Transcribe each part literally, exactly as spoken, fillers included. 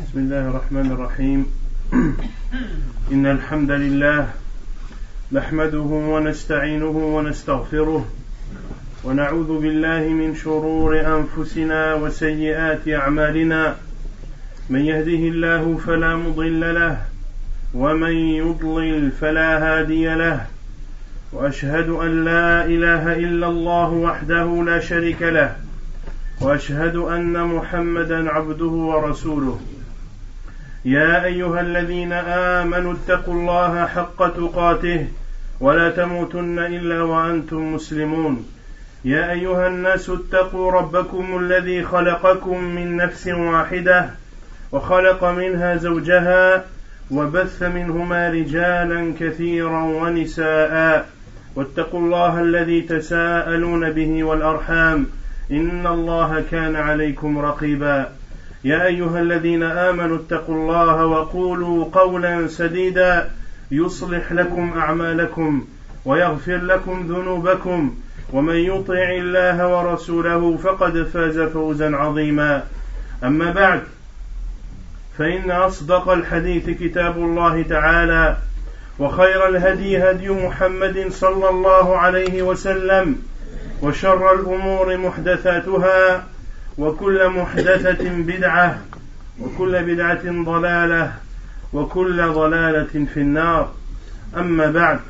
بسم الله الرحمن الرحيم. إن الحمد لله نحمده ونستعينه ونستغفره ونعوذ بالله من شرور أنفسنا وسيئات أعمالنا. من يهده الله فلا مضل له ومن يضلل فلا هادي له، وأشهد أن لا إله إلا الله وحده لا شريك له، وأشهد أن محمدا عبده ورسوله. يا أيها الذين آمنوا اتقوا الله حق تقاته ولا تموتن إلا وأنتم مسلمون. يا أيها الناس اتقوا ربكم الذي خلقكم من نفس واحدة وخلق منها زوجها وبث منهما رجالا كثيرا ونساء، واتقوا الله الذي تساءلون به والأرحام إن الله كان عليكم رقيبا. يا أيها الذين آمنوا اتقوا الله وقولوا قولا سديدا يصلح لكم أعمالكم ويغفر لكم ذنوبكم، ومن يطع الله ورسوله فقد فاز فوزا عظيما. أما بعد، فإن أصدق الحديث كتاب الله تعالى، وخير الهدي هدي محمد صلى الله عليه وسلم، وشر الأمور محدثاتها، وكل محدثة بدعة، وكل بدعة ضلالة، وكل ضلالة في النار. أما بعد،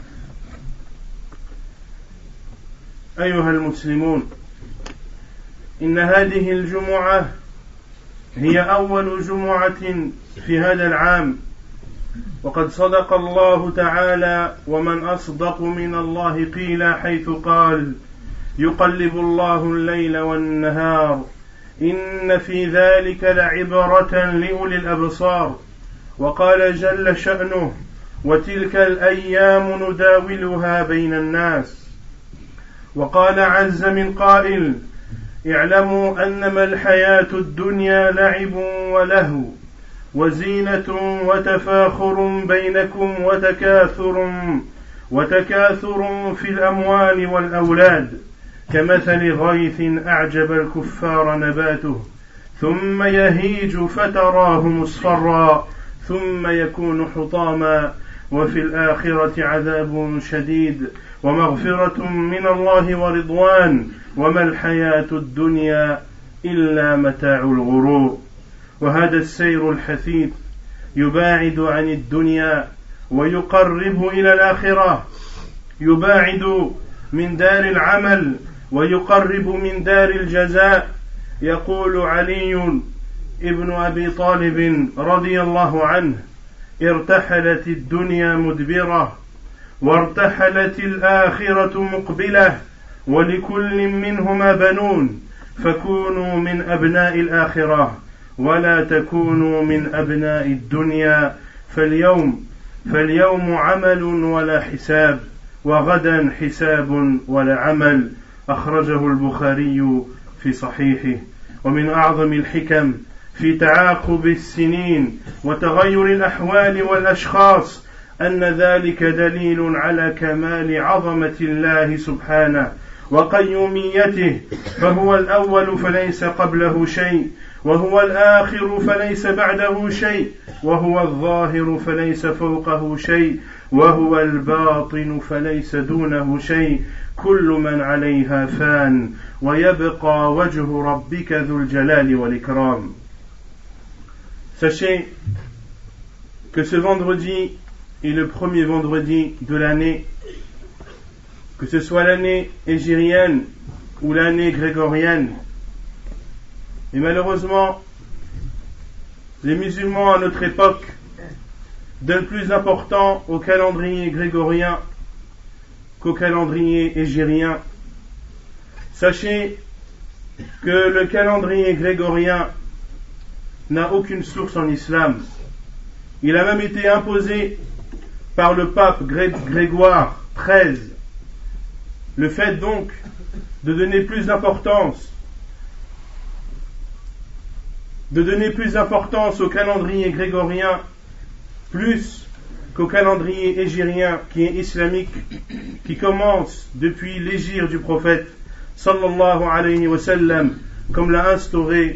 أيها المسلمون، إن هذه الجمعة هي أول جمعة في هذا العام، وقد صدق الله تعالى: ومن أصدق من الله قيلا، حيث قال: يقلب الله الليل والنهار إن في ذلك لعبرة لأولي الأبصار. وقال جل شأنه: وتلك الأيام نداولها بين الناس. وقال عز من قائل: اعلموا أنما الحياة الدنيا لعب ولهو وزينة وتفاخر بينكم وتكاثر وتكاثر في الأموال والأولاد، كمثل غيث أعجب الكفار نباته ثم يهيج فتراه مصفرا ثم يكون حطاما، وفي الآخرة عذاب شديد ومغفرة من الله ورضوان، وما الحياة الدنيا إلا متاع الغرور. وهذا السير الحثيث يباعد عن الدنيا ويقرب إلى الآخرة، يباعد من دار العمل ويقرب من دار الجزاء. يقول علي ابن أبي طالب رضي الله عنه: ارتحلت الدنيا مدبرة وارتحلت الآخرة مقبلة، ولكل منهما بنون، فكونوا من أبناء الآخرة ولا تكونوا من أبناء الدنيا. فاليوم فاليوم عمل ولا حساب، وغدا حساب ولا عمل. أخرجه البخاري في صحيحه. ومن أعظم الحكم في تعاقب السنين وتغير الأحوال والأشخاص أن ذلك دليل على كمال عظمة الله سبحانه وقيوميته، فهو الأول فليس قبله شيء، وهو الآخر فليس بعده شيء، وهو الظاهر فليس فوقه شيء، وهو الباطن فليس دونه شيء. كل من عليها فان ويبقى وجه ربك ذو الجلال والإكرام. Sachez que ce vendredi est le premier vendredi de l'année, que ce soit l'année hégirienne ou l'année grégorienne. Et malheureusement, les musulmans à notre époque donnent plus d'importance au calendrier grégorien qu'au calendrier hégirien. Sachez que le calendrier grégorien n'a aucune source en islam. Il a même été imposé par le pape Gré- Grégoire treize. Le fait donc de donner plus d'importance de donner plus d'importance au calendrier grégorien plus qu'au calendrier hégirien qui est islamique, qui commence depuis l'hégire du prophète sallallahu alayhi wa sallam, comme l'a instauré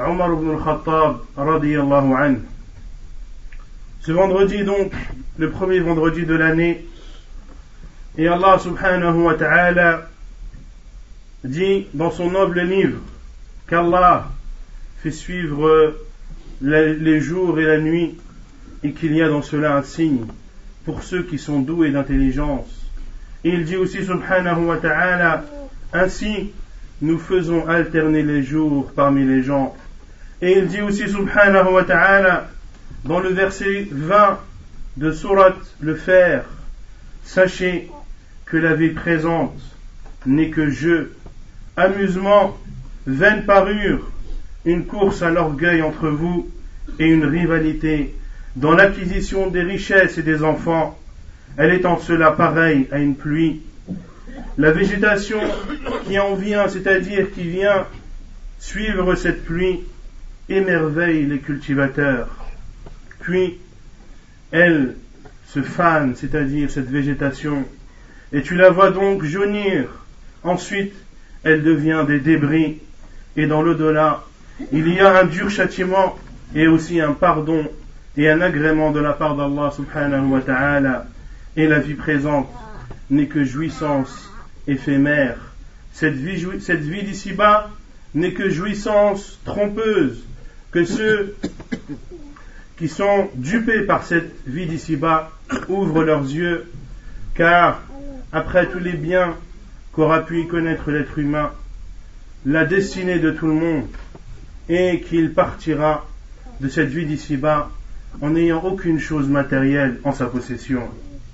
Omar ibn al-Khattab radiyallahu anhu. Ce vendredi donc, le premier vendredi de l'année, et Allah subhanahu wa ta'ala dit dans son noble livre qu'Allah fait suivre les jours et la nuit et qu'il y a dans cela un signe pour ceux qui sont doués d'intelligence. Et il dit aussi subhanahu wa ta'ala, ainsi nous faisons alterner les jours parmi les gens. Et il dit aussi subhanahu wa ta'ala dans le verset vingt de Surat le Fer, sachez que la vie présente n'est que jeu, amusement, vaine parure, une course à l'orgueil entre vous et une rivalité dans l'acquisition des richesses et des enfants. Elle est en cela pareille à une pluie. La végétation qui en vient, c'est-à-dire qui vient suivre cette pluie, émerveille les cultivateurs. Puis, elle se fane, c'est-à-dire cette végétation, et tu la vois donc jaunir. Ensuite, elle devient des débris, et dans l'au-delà, il y a un dur châtiment, et aussi un pardon, et un agrément de la part d'Allah subhanahu wa ta'ala. Et la vie présente n'est que jouissance éphémère. Cette vie, cette vie d'ici-bas n'est que jouissance trompeuse, que ceux qui sont dupés par cette vie d'ici-bas ouvrent leurs yeux, car après tous les biens qu'aura pu y connaître l'être humain, la destinée de tout le monde est qu'il partira de cette vie d'ici-bas en n'ayant aucune chose matérielle en sa possession.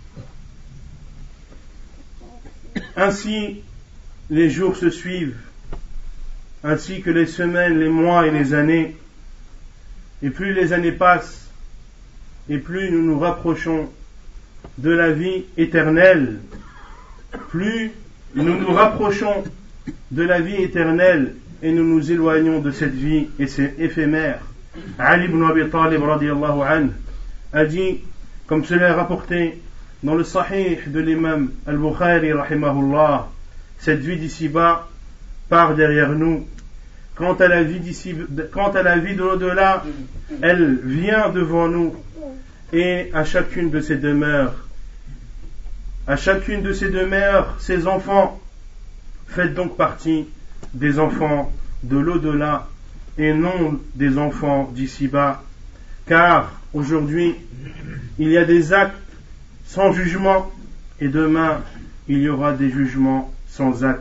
Ainsi, les jours se suivent, ainsi que les semaines, les mois et les années, et plus les années passent, et plus nous nous rapprochons de la vie éternelle, plus nous nous rapprochons de la vie éternelle et nous nous éloignons de cette vie et c'est éphémère. Ali ibn Abi Talib radiyallahu anhu a dit, comme cela est rapporté dans le Sahih de l'imam Al-Bukhari rahimahullah, cette vie d'ici-bas part derrière nous. Quant à la vie d'ici, quant à la vie de l'au-delà, elle vient devant nous. Et à chacune de ces demeures, à chacune de ces demeures, ces enfants, faites donc partie des enfants de l'au-delà et non des enfants d'ici-bas. Car aujourd'hui, il y a des actes sans jugement et demain, il y aura des jugements sans actes.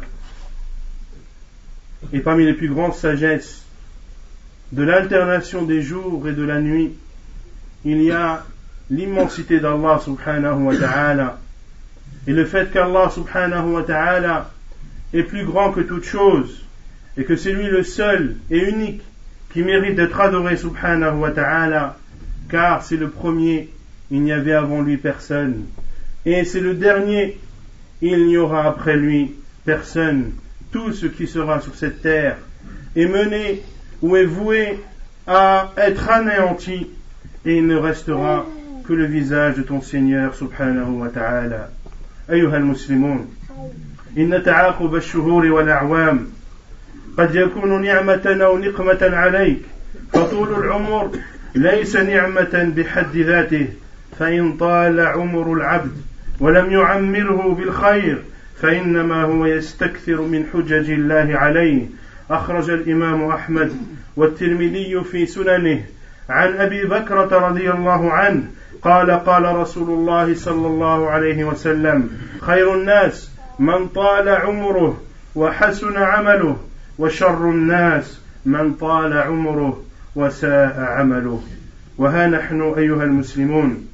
Et parmi les plus grandes sagesses de l'alternation des jours et de la nuit, il y a l'immensité d'Allah subhanahu wa ta'ala et le fait qu'Allah subhanahu wa ta'ala est plus grand que toute chose et que c'est lui le seul et unique qui mérite d'être adoré subhanahu wa ta'ala, car c'est le premier, il n'y avait avant lui personne, et c'est le dernier, il n'y aura après lui personne. Tout ce qui sera sur cette terre est mené ou est voué à être anéanti, et il ne restera que le visage de ton Seigneur subhanahu wa ta'ala. أيها المسلمون، إن تعاقب الشهور والأعوام قد يكون نعمة أو نقمة عليك، فطول العمر ليس نعمة بحد ذاته، فإن طال عمر العبد ولم يعمره بالخير فإنما هو يستكثر من حجج الله عليه. أخرج الإمام أحمد والترمذي في سننه عن أبي بكرة رضي الله عنه قال قال رسول الله صلى الله عليه وسلم: خير الناس من طال عمره وحسن عمله، وشر الناس من طال عمره وساء عمله. وها نحن أيها المسلمون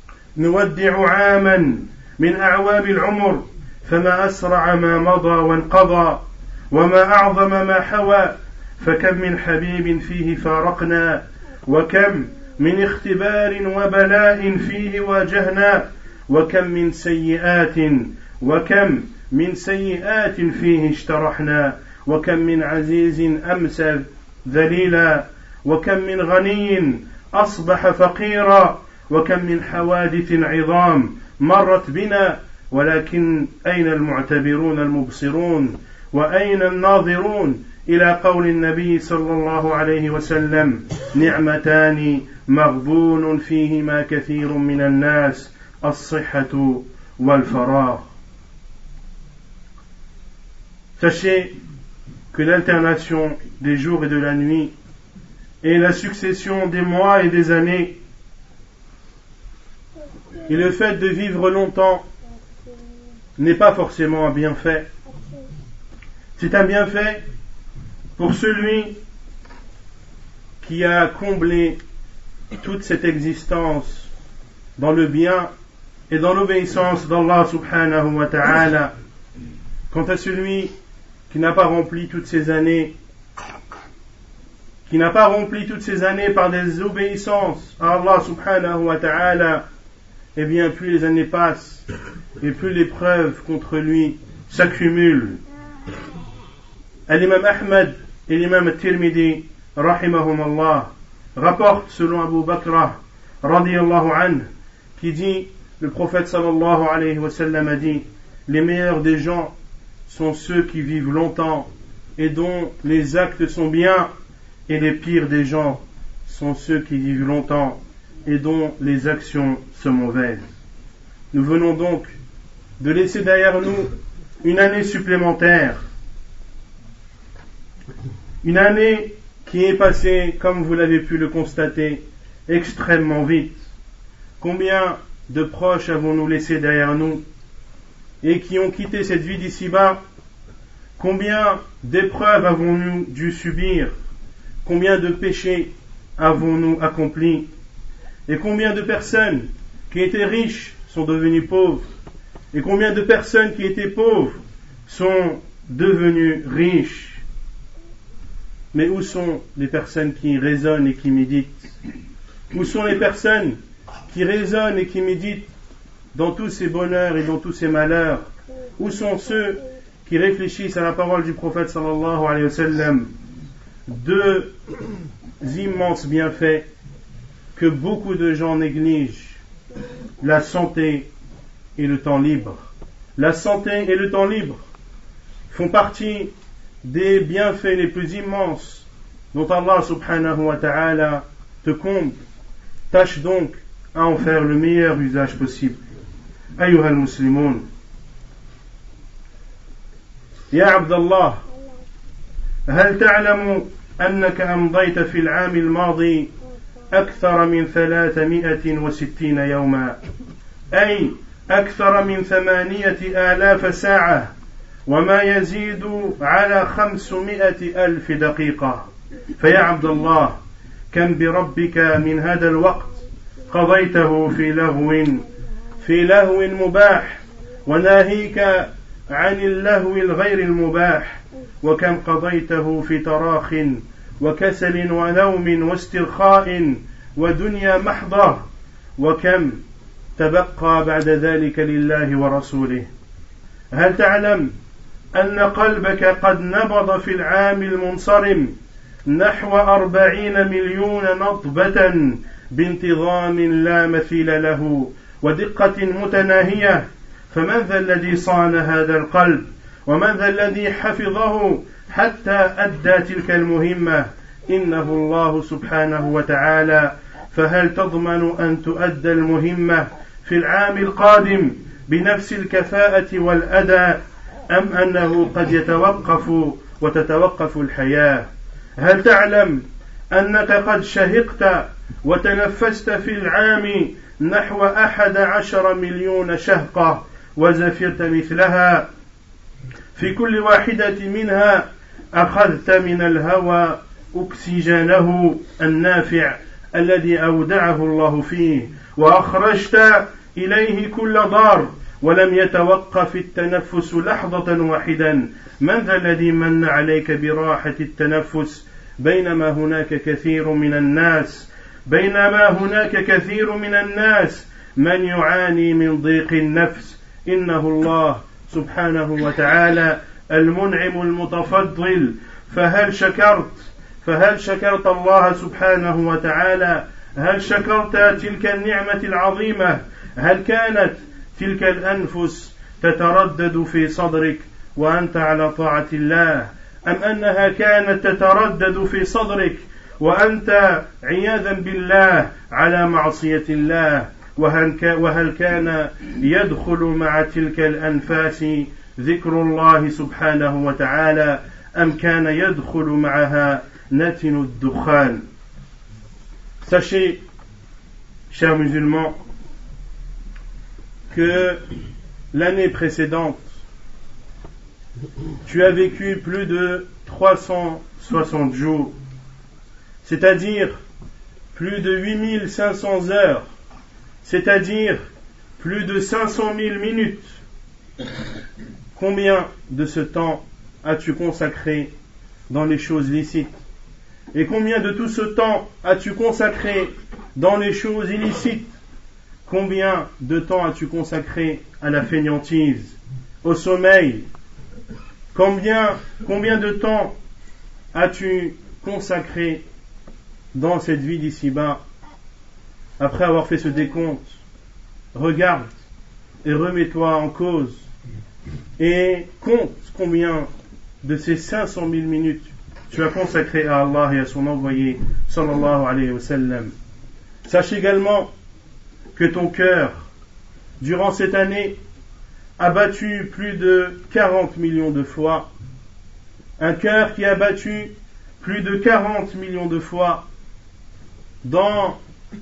نودع عاما من أعوام العمر، فما أسرع ما مضى وانقضى، وما أعظم ما حوى، فكم من حبيب فيه فارقنا، وكم من اختبار وبلاء فيه واجهنا، وكم من سيئات وكم من سيئات فيه اشترحنا، وكم من عزيز أمسى ذليلا، وكم من غني أصبح فقيرا، وكم من حوادث عظام مرت بنا، ولكن أين المعتبرون المبصرون، وأين الناظرون إلى قول النبي صلى الله عليه وسلم نعمتان مغبون فيهما كثير من الناس الصحة والفراغ. Sachez que l'alternation des jours et de la nuit et la succession des mois et des années et le fait de vivre longtemps n'est pas forcément un bienfait. C'est un bienfait pour celui qui a comblé toute cette existence dans le bien et dans l'obéissance d'Allah subhanahu wa ta'ala. Quant à celui qui n'a pas rempli toutes ces années, qui n'a pas rempli toutes ces années par des obéissances à Allah subhanahu wa ta'ala, eh bien plus les années passent et plus les preuves contre lui s'accumulent. L'imam Ahmad et l'imam Tirmidhi rahimahumallah rapportent selon Abu Bakr radiyallahu anhu qui dit, le prophète sallallahu alayhi wa sallam a dit, les meilleurs des gens sont ceux qui vivent longtemps et dont les actes sont bien, et les pires des gens sont ceux qui vivent longtemps et dont les actions sont mauvaises. Nous venons donc de laisser derrière nous une année supplémentaire, une année qui est passée, comme vous l'avez pu le constater, extrêmement vite. Combien de proches avons-nous laissé derrière nous et qui ont quitté cette vie d'ici-bas? Combien d'épreuves avons-nous dû subir? Combien de péchés avons-nous accomplis? Et combien de personnes qui étaient riches sont devenues pauvres? Et combien de personnes qui étaient pauvres sont devenues riches? Mais où sont les personnes qui raisonnent et qui méditent? Où sont les personnes qui raisonnent et qui méditent dans tous ces bonheurs et dans tous ces malheurs? Où sont ceux qui réfléchissent à la parole du prophète sallallahu alayhi wa sallam? Deux immenses bienfaits que beaucoup de gens négligent: la santé et le temps libre. La santé et le temps libre font partie des bienfaits les plus immenses dont Allah subhanahu wa ta'ala te comble. Tâche donc à en faire le meilleur usage possible. أيها المسلمون، يا عبد الله، هل تعلم أنك أمضيت في العام الماضي أكثر من ثلاثمائة وستين يوما، أي أكثر من ثمانية آلاف ساعة، وما يزيد على خمسمائة ألف دقيقة. فيا عبد الله، كم بربك من هذا الوقت قضيته في لهو في لهو مباح، وناهيك عن اللهو الغير المباح، وكم قضيته في تراخ وكسل ونوم واسترخاء ودنيا محضة، وكم تبقى بعد ذلك لله ورسوله. هل تعلم أن قلبك قد نبض في العام المنصرم نحو أربعين مليون نطبة بانتظام لا مثيل له ودقة متناهية؟ فمن ذا الذي صان هذا القلب؟ ومن ذا الذي حفظه حتى أدى تلك المهمة؟ إنه الله سبحانه وتعالى. فهل تضمن أن تؤدى المهمة في العام القادم بنفس الكفاءة والأداء، أم أنه قد يتوقف وتتوقف الحياة؟ هل تعلم أنك قد شهقت وتنفست في العام نحو أحد عشر مليون شهقة وزفرت مثلها؟ في كل واحدة منها أخذت من الهواء أكسجينه النافع الذي أودعه الله فيه، وأخرجت إليه كل ضار، ولم يتوقف التنفس لحظة واحدا. من ذا الذي من عليك براحة التنفس بينما هناك كثير من الناس بينما هناك كثير من الناس من يعاني من ضيق النفس؟ إنه الله سبحانه وتعالى المنعم المتفضل. فهل شكرت فهل شكرت الله سبحانه وتعالى؟ هل شكرت تلك النعمة العظيمة؟ هل كانت تلك الأنفس تتردد في صدرك وأنت على طاعة الله؟ أم أنها كانت تتردد في صدرك وأنت عياذا بالله على معصية الله؟ وهل كان يدخل مع تلك الأنفاس ذكر الله سبحانه وتعالى أم كان يدخل معها نتن الدخان؟ Sachez, chers musulmans, que l'année précédente, tu as vécu plus de trois cent soixante jours, c'est-à-dire plus de huit mille cinq cents heures, c'est-à-dire plus de cinq cent mille minutes. Combien de ce temps as-tu consacré dans les choses licites? Et combien de tout ce temps as-tu consacré dans les choses illicites? Combien de temps as-tu consacré à la fainéantise, au sommeil? Combien, combien de temps as-tu consacré dans cette vie d'ici-bas? Après avoir fait ce décompte, regarde et remets-toi en cause et compte combien de ces cinq cent mille minutes tu as consacré à Allah et à son envoyé sallallahu alayhi wa sallam. Sache également que ton cœur, durant cette année, a battu plus de quarante millions de fois. Un cœur qui a battu plus de quarante millions de fois dans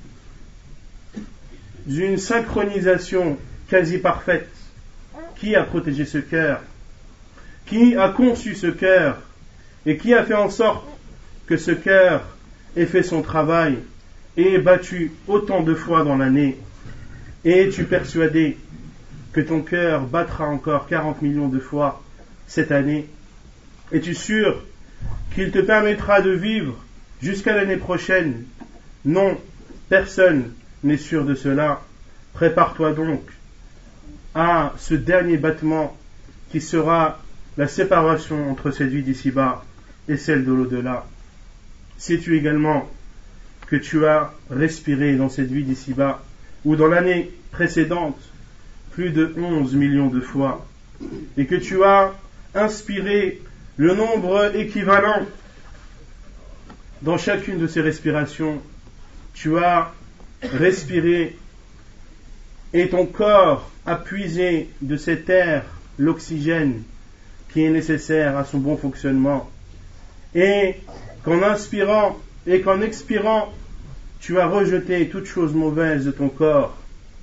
une synchronisation quasi parfaite. Qui a protégé ce cœur? Qui a conçu ce cœur? Et qui a fait en sorte que ce cœur ait fait son travail et ait battu autant de fois dans l'année? Et es-tu persuadé que ton cœur battra encore quarante millions de fois cette année? Es-tu sûr qu'il te permettra de vivre jusqu'à l'année prochaine? Non, personne n'est sûr de cela. Prépare-toi donc à ce dernier battement qui sera la séparation entre cette vie d'ici-bas et celle de l'au-delà. Sais-tu également que tu as respiré dans cette vie d'ici-bas ou dans l'année précédente plus de onze millions de fois et que tu as inspiré le nombre équivalent dans chacune de ces respirations? Tu as respiré et ton corps a puisé de cet air l'oxygène qui est nécessaire à son bon fonctionnement, et qu'en inspirant et qu'en expirant tu as rejeté toute chose mauvaise de ton corps.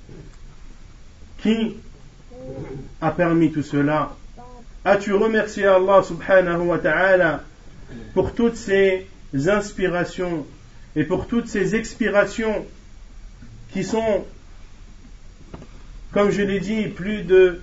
Qui a permis tout cela? As-tu remercié Allah subhanahu wa ta'ala pour toutes ces inspirations et pour toutes ces expirations qui sont, comme je l'ai dit, plus de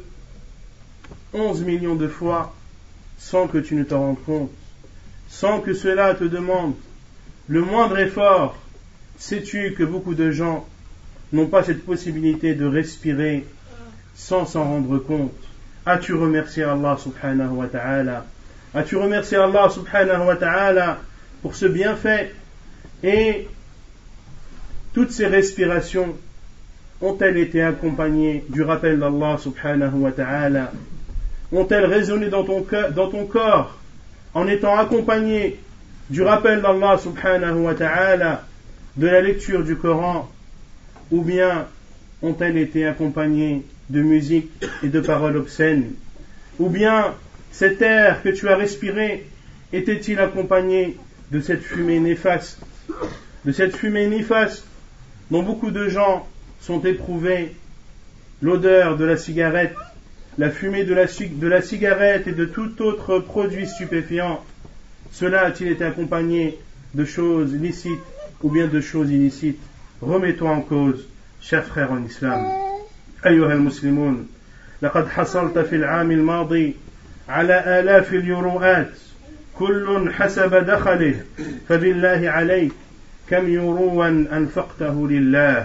onze millions de fois sans que tu ne t'en rendes compte, sans que cela te demande le moindre effort? Sais-tu que beaucoup de gens n'ont pas cette possibilité de respirer sans s'en rendre compte? As-tu remercié Allah subhanahu wa ta'ala? As-tu remercié Allah subhanahu wa ta'ala pour ce bienfait? Et toutes ces respirations ont-elles été accompagnées du rappel d'Allah subhanahu wa ta'ala? Ont-elles résonné dans ton, cœur, dans ton corps en étant accompagnées du rappel d'Allah subhanahu wa ta'ala, de la lecture du Coran? Ou bien ont-elles été accompagnées de musique et de paroles obscènes? Ou bien cet air que tu as respiré était-il accompagné de cette fumée néfaste, de cette fumée néfaste dont beaucoup de gens sont éprouvés, l'odeur de la cigarette, la fumée de la, de la cigarette et de tout autre produit stupéfiant? Cela a-t-il été accompagné de choses licites ou bien de choses illicites? Remets-toi en cause, chers frères en islam. أيها المسلمون، لقد حصلت في العام الماضي على آلاف اليوروات كل حسب دخله، فبالله عليك كم يوروا أنفقته لله؟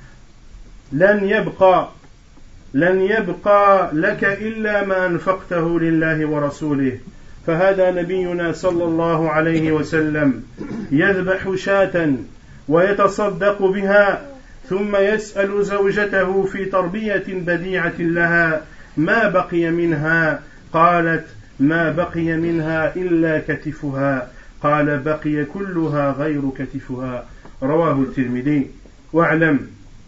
لن يبقى لن يبقى لك إلا ما أنفقته لله ورسوله. فهذا نبينا صلى الله عليه وسلم يذبح شاة ويتصدق بها ثم يسأل زوجته في تربية بديعة لها ما بقي منها، قالت ما بقي منها إلا كتفها قال بقي كلها غير كتفها رواه الترمذي واعلم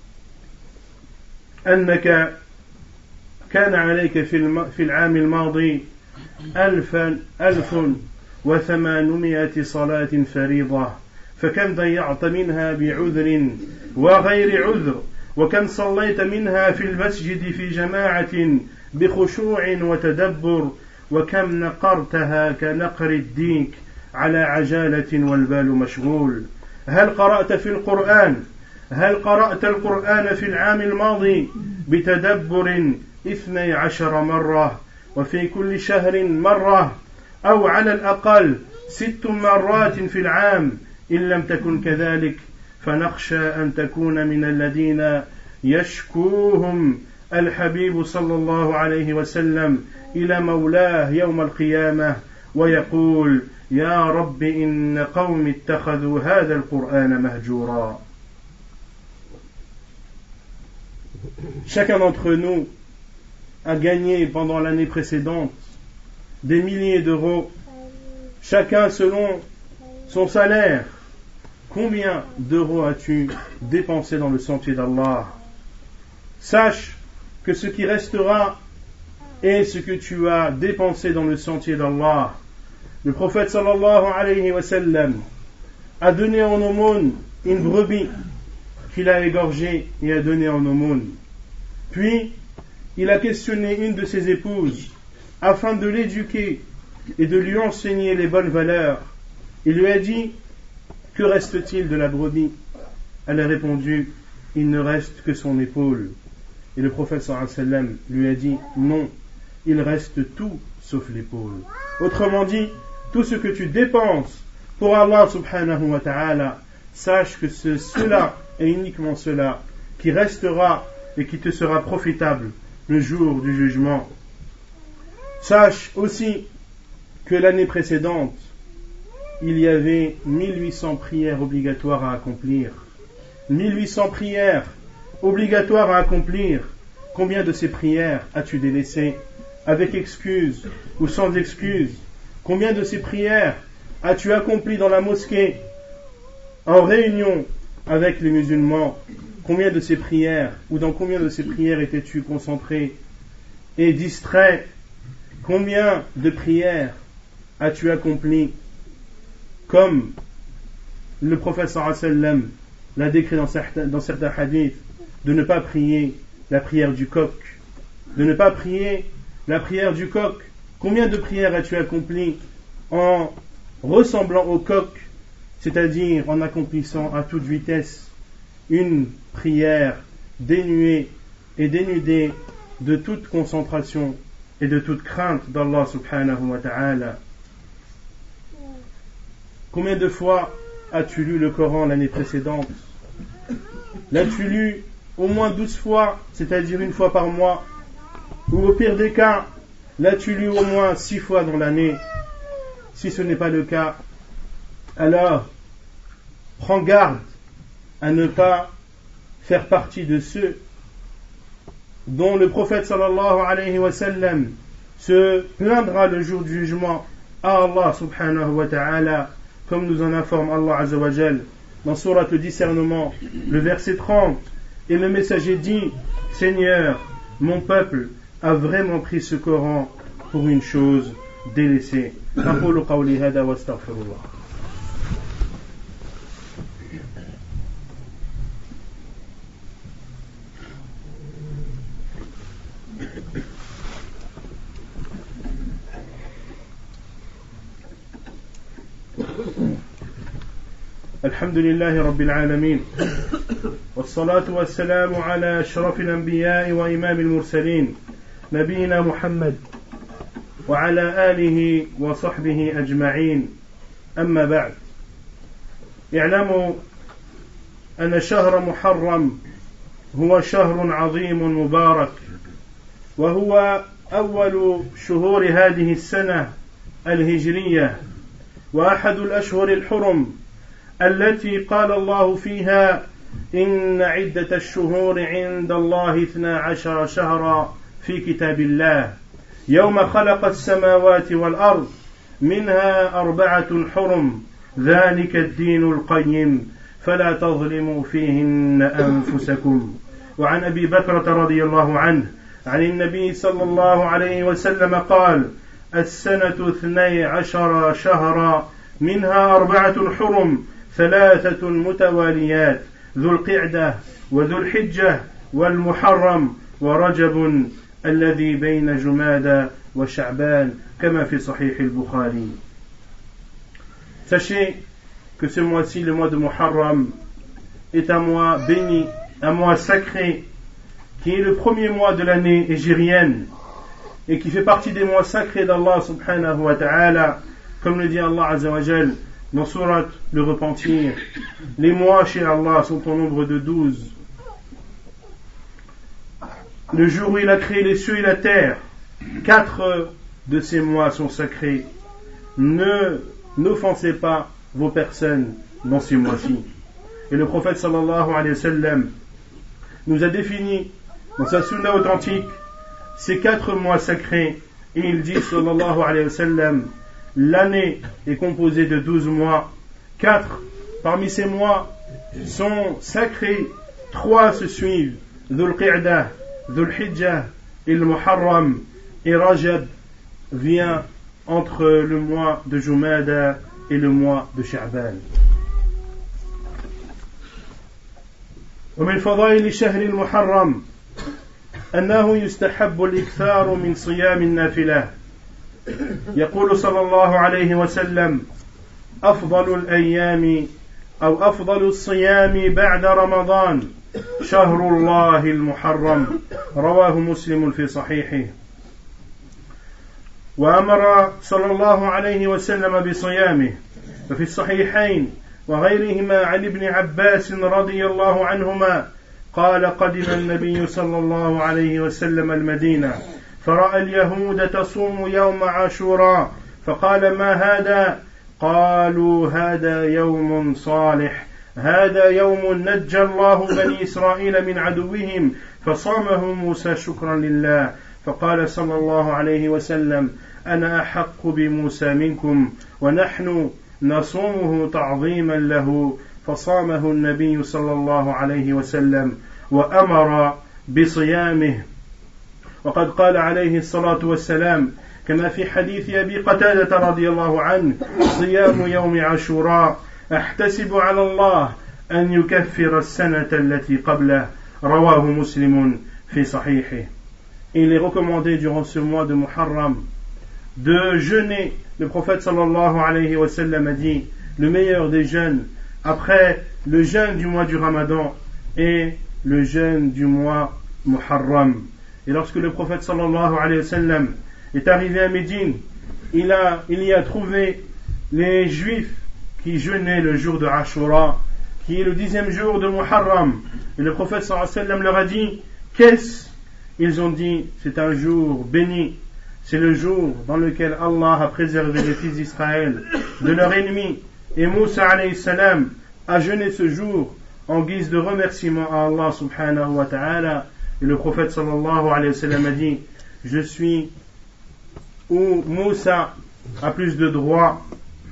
أنك كان عليك في, في العام الماضي ألفا ألف وثمانمائة صلاة فريضة فكم ضيعت منها بعذر وغير عذر وكم صليت منها في المسجد في جماعة بخشوع وتدبر وكم نقرتها كنقر الديك على عجالة والبال مشغول هل قرأت في القرآن هل قرأت القرآن في العام الماضي بتدبر اثني عشر مرة وفي كل شهر مرة أو على الأقل ست مرات في العام إن لم تكن كذلك فنخشى أن تكون من الذين يشكوهم الحبيب صلى الله عليه وسلم إلى مولاه يوم القيامة ويقول يا رب إن قوم اتخذوا هذا القرآن مهجورا. Chacun d'entre nous a gagné pendant l'année précédente des milliers d'euros, chacun selon son salaire. Combien d'euros as-tu dépensé dans le sentier d'Allah? Sache que ce qui restera est ce que tu as dépensé dans le sentier d'Allah. Le prophète sallallahu alayhi wa sallam a donné en aumône une brebis qu'il a égorgée et a donnée en aumône. Puis, il a questionné une de ses épouses afin de l'éduquer et de lui enseigner les bonnes valeurs. Il lui a dit, que reste-t-il de la brebis? Elle a répondu, il ne reste que son épaule. Et le prophète sallallahu alayhi wa sallam lui a dit, non, il reste tout sauf l'épaule. Autrement dit, tout ce que tu dépenses pour Allah subhanahu wa ta'ala, sache que c'est cela et uniquement cela qui restera et qui te sera profitable le jour du jugement. Sache aussi que l'année précédente, il y avait mille huit cents prières obligatoires à accomplir. mille huit cents prières obligatoires à accomplir. Combien de ces prières as-tu délaissées avec excuse ou sans excuse? Combien de ces prières as-tu accompli dans la mosquée en réunion avec les musulmans? Combien de ces prières ou dans combien de ces prières étais-tu concentré et distrait? Combien de prières as-tu accompli comme le prophète sallallahu alayhi wa sallam l'a décrit dans certains, dans certains hadiths, de ne pas prier la prière du coq, de ne pas prier la prière du coq? Combien de prières as-tu accompli en ressemblant au coq, c'est-à-dire en accomplissant à toute vitesse une prière dénuée et dénudée de toute concentration et de toute crainte d'Allah subhanahu wa ta'ala? Combien de fois as-tu lu le Coran l'année précédente? L'as-tu lu au moins douze fois, c'est-à-dire une fois par mois? Ou au pire des cas, l'as-tu lu au moins six fois dans l'année? Si ce n'est pas le cas, alors prends garde à ne pas faire partie de ceux dont le prophète sallallahu alayhi wa sallam se plaindra le jour du jugement à Allah subhanahu wa ta'ala, comme nous en informe Allah azza wa jal dans Sourate le discernement, le verset trente. Et le messager dit, Seigneur, mon peuple a vraiment pris ce Coran pour une chose délaissée. أقول قولي هذا واستغفر الله. الحمد لله رب العالمين والصلاة والسلام على أشرف الأنبياء وإمام المرسلين نبينا محمد وعلى آله وصحبه أجمعين. أما بعد، اعلموا أن شهر محرم هو شهر عظيم مبارك، وهو أول شهور هذه السنة الهجرية، وأحد الأشهر الحرم التي قال الله فيها إن عدة الشهور عند الله اثنا عشر شهرا في كتاب الله. يوم خلق السماوات والأرض منها أربعة حرم ذلك الدين القيم فلا تظلموا فيهن أنفسكم. وعن أبي بكرة رضي الله عنه عن النبي صلى الله عليه وسلم قال السنة اثني عشر شهرا منها أربعة حرم ثلاثة متواليات ذو القعدة وذو الحجة والمحرم ورجب الذي بين جمادى وشعبان كما في صحيح البخاري. Sachez que ce mois-ci, le mois de Muharram, est un mois béni, un mois sacré, qui est le premier mois de l'année hégirienne et qui fait partie des mois sacrés d'Allah subhanahu wa ta'ala, comme le dit Allah azza wa jal dans Surat le Repentir. Les mois chez Allah sont au nombre de douze. Le jour où il a créé les cieux et la terre, quatre de ces mois sont sacrés. Ne n'offensez pas vos personnes dans ces mois-ci. Et le prophète sallallahu alayhi wa sallam nous a défini dans sa sunna authentique ces quatre mois sacrés, et il dit sallallahu alayhi wa sallam, l'année est composée de douze mois, quatre parmi ces mois sont sacrés, trois se suivent, Dhul Qa'dah, Dhul Hijjah et le Muharram, et Rajab vient entre le mois de Jumada et le mois de Sha'ban. ومن فضائل شهر المحرم أنه يستحب الإكثار من صيام النافلة. يقول صلى الله عليه وسلم أفضل الأيام أو أفضل الصيام بعد رمضان شهر الله المحرم رواه مسلم في صحيحه. وأمر صلى الله عليه وسلم بصيامه ففي الصحيحين وغيرهما عن ابن عباس رضي الله عنهما قال قدم النبي صلى الله عليه وسلم المدينة فرأى اليهود تصوم يوم عاشوراء فقال ما هذا؟ قالوا هذا يوم صالح هذا يوم نجى الله بني إسرائيل من عدوهم فصامه موسى شكرا لله فقال صلى الله عليه وسلم أنا أحق بموسى منكم ونحن نصومه تعظيما له فصامه النبي صلى الله عليه وسلم وأمر بصيامه. وقد قال عليه الصلاة والسلام كما في حديث أبي قتادة رضي الله عنه صيام يوم عاشوراء أحتسب على الله أن يكفر السنة التي قبله رواه مسلم في صحيحه. Il est recommandé durant ce mois de Muharram de jeûner. Le prophète sallallahu alayhi wa sallam a dit le meilleur des jeûnes après le jeûne du mois du Ramadan et le jeûne du mois Muharram. Et lorsque le prophète sallallahu alayhi wa sallam est arrivé à Médine, il, a, il y a trouvé les juifs qui jeûnaient le jour de Ashura, qui est le dixième jour de Muharram. Et le prophète sallallahu alayhi wa sallam leur a dit qu'est-ce? Ils ont dit c'est un jour béni, c'est le jour dans lequel Allah a préservé les fils d'Israël de leurs ennemis. Et Moussa alayhi salam a jeûné ce jour en guise de remerciement à Allah subhanahu wa ta'ala. Et le prophète sallallahu alayhi wa sallam a dit je suis où Moussa a plus de droits,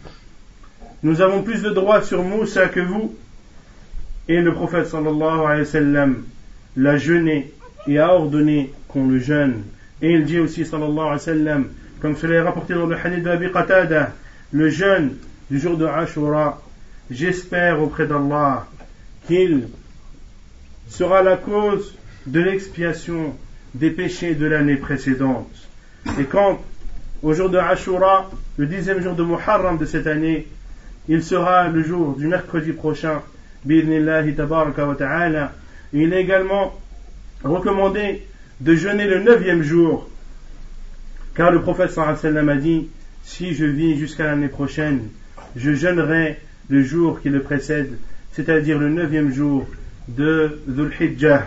nous avons plus de droits sur Moussa que vous. Et le prophète sallallahu alayhi wa sallam l'a jeûné et a ordonné qu'on le jeûne. Et il dit aussi sallallahu alayhi wa sallam, comme cela est rapporté dans le hadith de Abi Qatada, le jeûne du jour de Ashura, j'espère auprès d'Allah qu'il sera la cause de l'expiation des péchés de l'année précédente. Et quand au jour de Ashura, le dixième jour de Muharram de cette année, il sera le jour du mercredi prochain, bi'idhnillahi tabaraka wa ta'ala, il est également recommandé de jeûner le neuvième jour, car le prophète sallallahu alayhi wa sallam a dit si je vis jusqu'à l'année prochaine, je jeûnerai le jour qui le précède, c'est-à-dire le neuvième jour de Dhul Hijjah.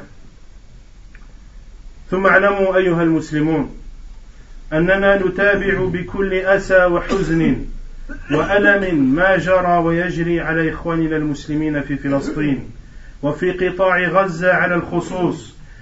ثم اعلموا أيها المسلمون أننا نتابع بكل أسى وحزن وألم ما جرى ويجري على إخواننا المسلمين في فلسطين وفي قطاع غزة على الخصوص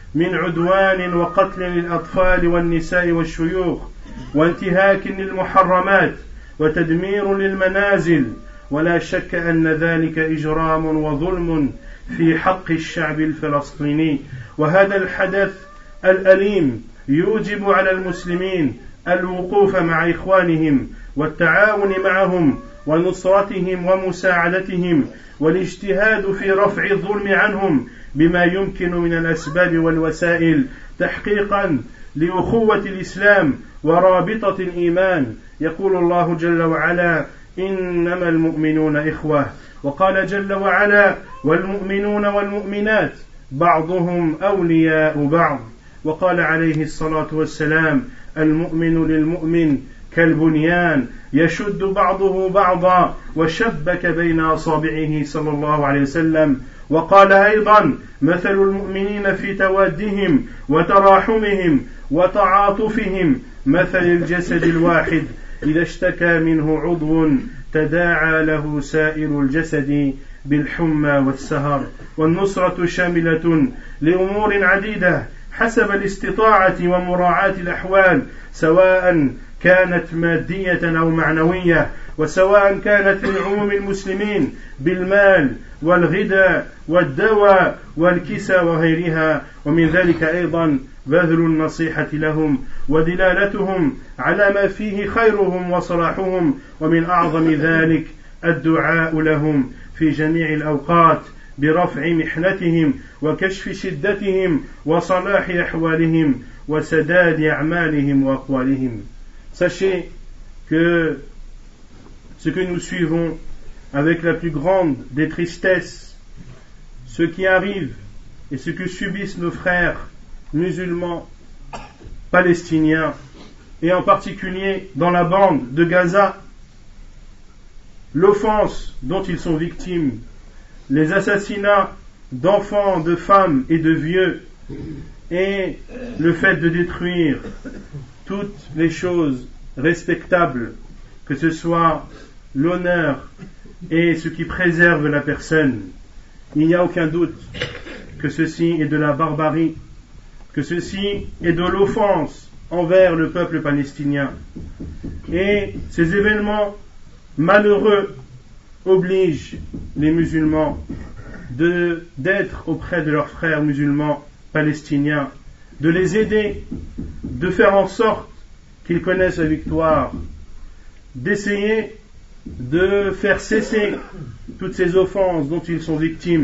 من عدوان وقتل للأطفال والنساء والشيوخ وانتهاك للمحرمات وتدمير للمنازل، ولا شك أن ذلك إجرام وظلم في حق الشعب الفلسطيني. وهذا الحدث الأليم يوجب على المسلمين الوقوف مع إخوانهم والتعاون معهم ونصرتهم ومساعدتهم والاجتهاد في رفع الظلم عنهم بما يمكن من الأسباب والوسائل تحقيقا لأخوة الإسلام ورابطة الإيمان. يقول الله جل وعلا: إنما المؤمنون إخوة. وقال جل وعلا: والمؤمنون والمؤمنات بعضهم أولياء بعض. وقال عليه الصلاة والسلام: المؤمن للمؤمن كالبنيان يشد بعضه بعضا وشبك بين أصابعه صلى الله عليه وسلم. وقال أيضا: مثل المؤمنين في توادهم وتراحمهم وتعاطفهم مثل الجسد الواحد إذا اشتكى منه عضو تداعى له سائر الجسد بالحمى والسهر. والنصرة شاملة لأمور عديدة حسب الاستطاعة ومراعاة الأحوال، سواء كانت مادية أو معنوية، وسواء كانت لعموم المسلمين بالمال والغذاء والدواء والكسى وغيرها. ومن ذلك أيضا بذل النصيحة لهم ودلالتهم على ما فيه خيرهم وصلاحهم، ومن أعظم ذلك الدعاء لهم في جميع الأوقات برفع محنتهم وكشف شدتهم وصلاح أحوالهم وسداد أعمالهم وأقوالهم. Sachez que ce que nous suivons avec la plus grande des tristesses, ce qui arrive et ce que subissent nos frères musulmans palestiniens, et en particulier dans la bande de Gaza, l'offense dont ils sont victimes, les assassinats d'enfants, de femmes et de vieux, et le fait de détruire toutes les choses respectables, que ce soit l'honneur et ce qui préserve la personne. Il n'y a aucun doute que ceci est de la barbarie, que ceci est de l'offense envers le peuple palestinien. Et ces événements malheureux obligent les musulmans de, d'être auprès de leurs frères musulmans palestiniens, de les aider, de faire en sorte qu'ils connaissent la victoire, d'essayer de faire cesser toutes ces offenses dont ils sont victimes,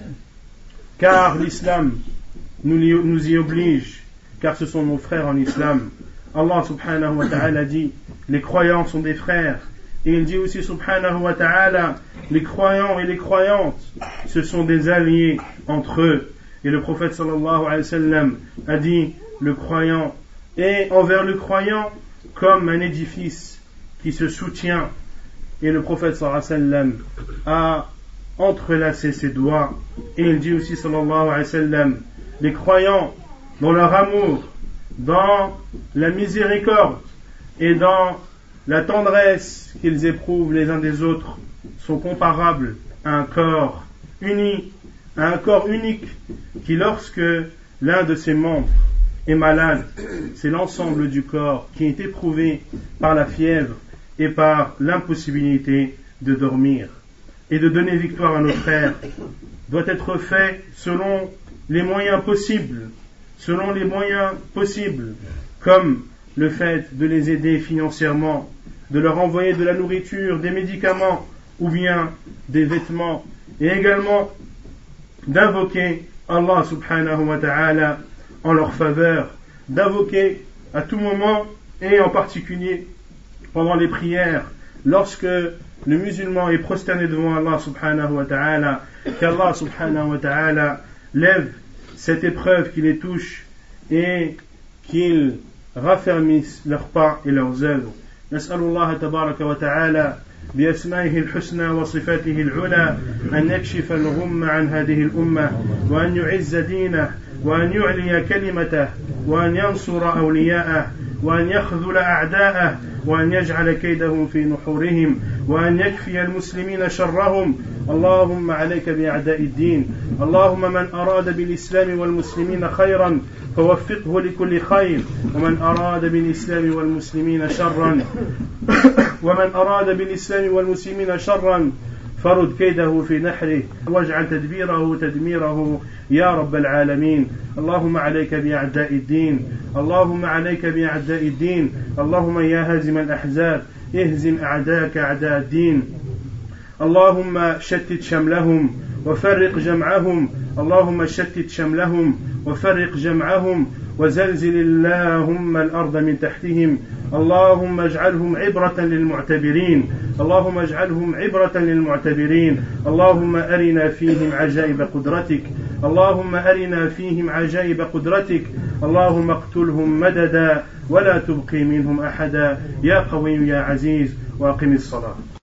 car l'islam nous, nous y oblige, car ce sont nos frères en islam. Allah subhanahu wa ta'ala dit: les croyants sont des frères. Et il dit aussi subhanahu wa ta'ala: les croyants et les croyantes, ce sont des alliés entre eux. Et le prophète sallallahu alayhi wa sallam a dit: le croyant est envers le croyant comme un édifice qui se soutient. Et le prophète sallallahu alayhi wa sallam a entrelacé ses doigts. Et il dit aussi sallallahu alayhi wa sallam: les croyants, dans leur amour, dans la miséricorde et dans la tendresse qu'ils éprouvent les uns des autres, sont comparables à un corps uni, à un corps unique qui, lorsque l'un de ses membres est malade, c'est l'ensemble du corps qui est éprouvé par la fièvre et par l'impossibilité de dormir. Et de donner victoire à nos frères doit être fait selon les moyens possibles, selon les moyens possibles, comme le fait de les aider financièrement, de leur envoyer de la nourriture, des médicaments ou bien des vêtements, et également d'invoquer Allah subhanahu wa ta'ala en leur faveur, d'invoquer à tout moment et en particulier pendant les prières, lorsque le musulman est prosterné devant Allah subhanahu wa ta'ala, qu'Allah subhanahu wa ta'ala lève cette épreuve qui les touche et qu'il raffermisse leurs pas et leurs œuvres. نسأل الله تبارك وتعالى بأسمائه الحسنى وصفاته العلى أن يكشف الغم عن هذه الأمة وأن يعز دينه وأن يعلي كلمته وأن ينصر أولياءه وأن يخذل أعداءه وأن يجعل كيدهم في نحورهم وأن يكفي المسلمين شرهم. اللهم عليك بأعداء الدين. اللهم من أراد بالإسلام والمسلمين خيرا فوفقه لكل خير، ومن أراد بالإسلام والمسلمين شرا ومن أراد بالإسلام والمسلمين شرا فرد كيده في نحره واجعل تدبيره تدميره يا رب العالمين. اللهم عليك بأعداء الدين. اللهم عليك بأعداء الدين. اللهم يا هازم الأحزاب اهزم أعداءك أعداء الدين. اللهم شتت شملهم وفرق جمعهم. اللهم شتت شملهم وفرق جمعهم وزلزل اللهم الأرض من تحتهم. اللهم اجعلهم عبرة للمعتبرين. اللهم اجعلهم عبرة للمعتبرين. اللهم أرنا فيهم عجائب قدرتك. اللهم أرنا فيهم عجائب قدرتك. اللهم اقتلهم مددا ولا تبقي منهم أحدا يا قوي يا عزيز. وأقم الصلاة.